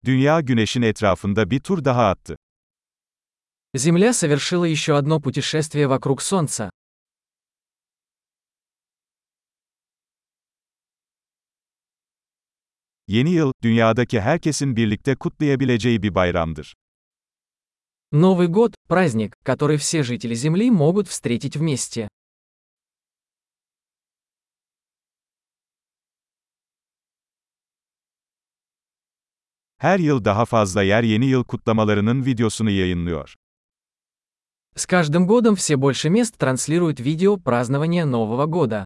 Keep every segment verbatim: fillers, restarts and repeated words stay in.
Dünya Güneş'in etrafında bir tur daha attı. Земля совершила еще одно путешествие вокруг Солнца. Yeni yıl, dünyadaki herkesin birlikte kutlayabileceği bir bayramdır. Новый год – праздник, который все жители Земли могут встретить вместе. Her yıl daha fazla yer yeni yıl kutlamalarının videosunu yayınlıyor. С каждым годом все больше мест транслируют видео празднования Нового года.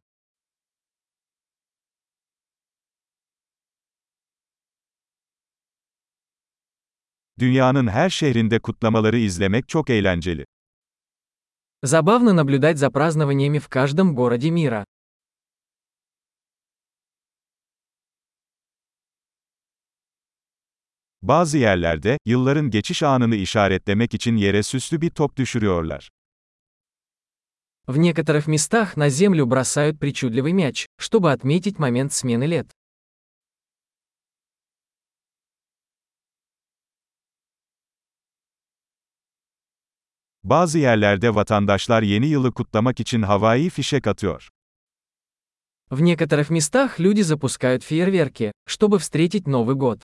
Dünyanın her şehrinde kutlamaları izlemek çok eğlenceli. Забавно наблюдать за празднованиями в каждом городе мира. Bazı yerlerde, yılların geçiş anını işaretlemek için yere süslü bir top düşürüyorlar. В некоторых местах на Землю бросают причудливый мяч, чтобы отметить момент смены лет. Bazı yerlerde vatandaşlar yeni yılı kutlamak için havai fişek atıyor. В некоторых местах люди запускают фейерверки, чтобы встретить Новый год.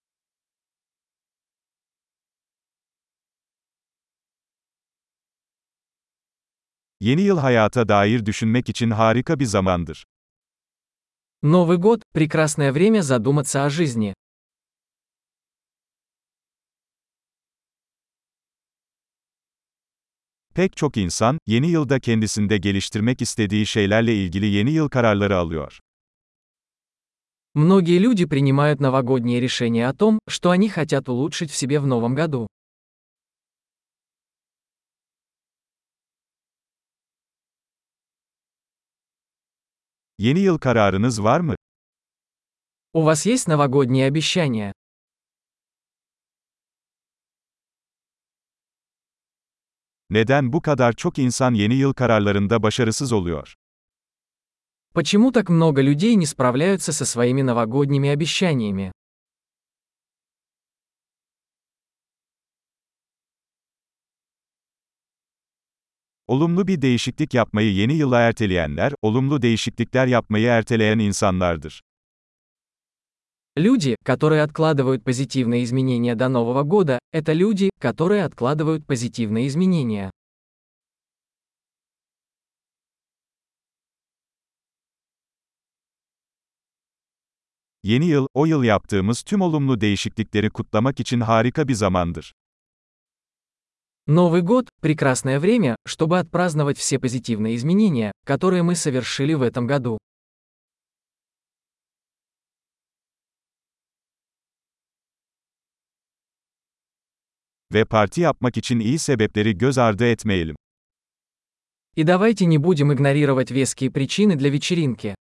Yeni yıl hayata dair düşünmek için harika bir zamandır. Новый год – прекрасное время задуматься о жизни. Pek çok insan, yeni yılda kendisinde geliştirmek istediği şeylerle ilgili yeni yıl kararları alıyor. Многие люди принимают новогодние решения о том, что они хотят улучшить в себе в новом году. Yeni yıl kararınız var mı? У вас есть новогодние обещания? Neden bu kadar çok insan yeni yıl kararlarında başarısız oluyor? Почему так много людей не справляются со своими новогодними обещаниями? Olumlu bir değişiklik yapmayı yeni yıla erteleyenler, olumlu değişiklikler yapmayı erteleyen insanlardır. Люди, которые откладывают позитивные изменения до Нового года, это люди, которые откладывают позитивные изменения. Yeni yıl, o yıl yaptığımız tüm olumlu değişiklikleri kutlamak için harika bir zamandır. Новый год – прекрасное время, чтобы отпраздновать все позитивные изменения, которые мы совершили в этом году. Ve parti yapmak için iyi sebepleri göz ardı etmeyelim. И давайте не будем игнорировать веские причины для вечеринки.